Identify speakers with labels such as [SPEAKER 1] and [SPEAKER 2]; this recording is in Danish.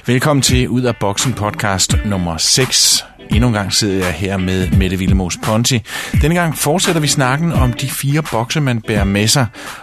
[SPEAKER 1] Velkommen til Ud af Boksen podcast nummer 6. Endnu en gang sidder jeg her med Mette Willemoes Ponti. Denne gang fortsætter vi snakken om de 4 bokse, man bærer med sig.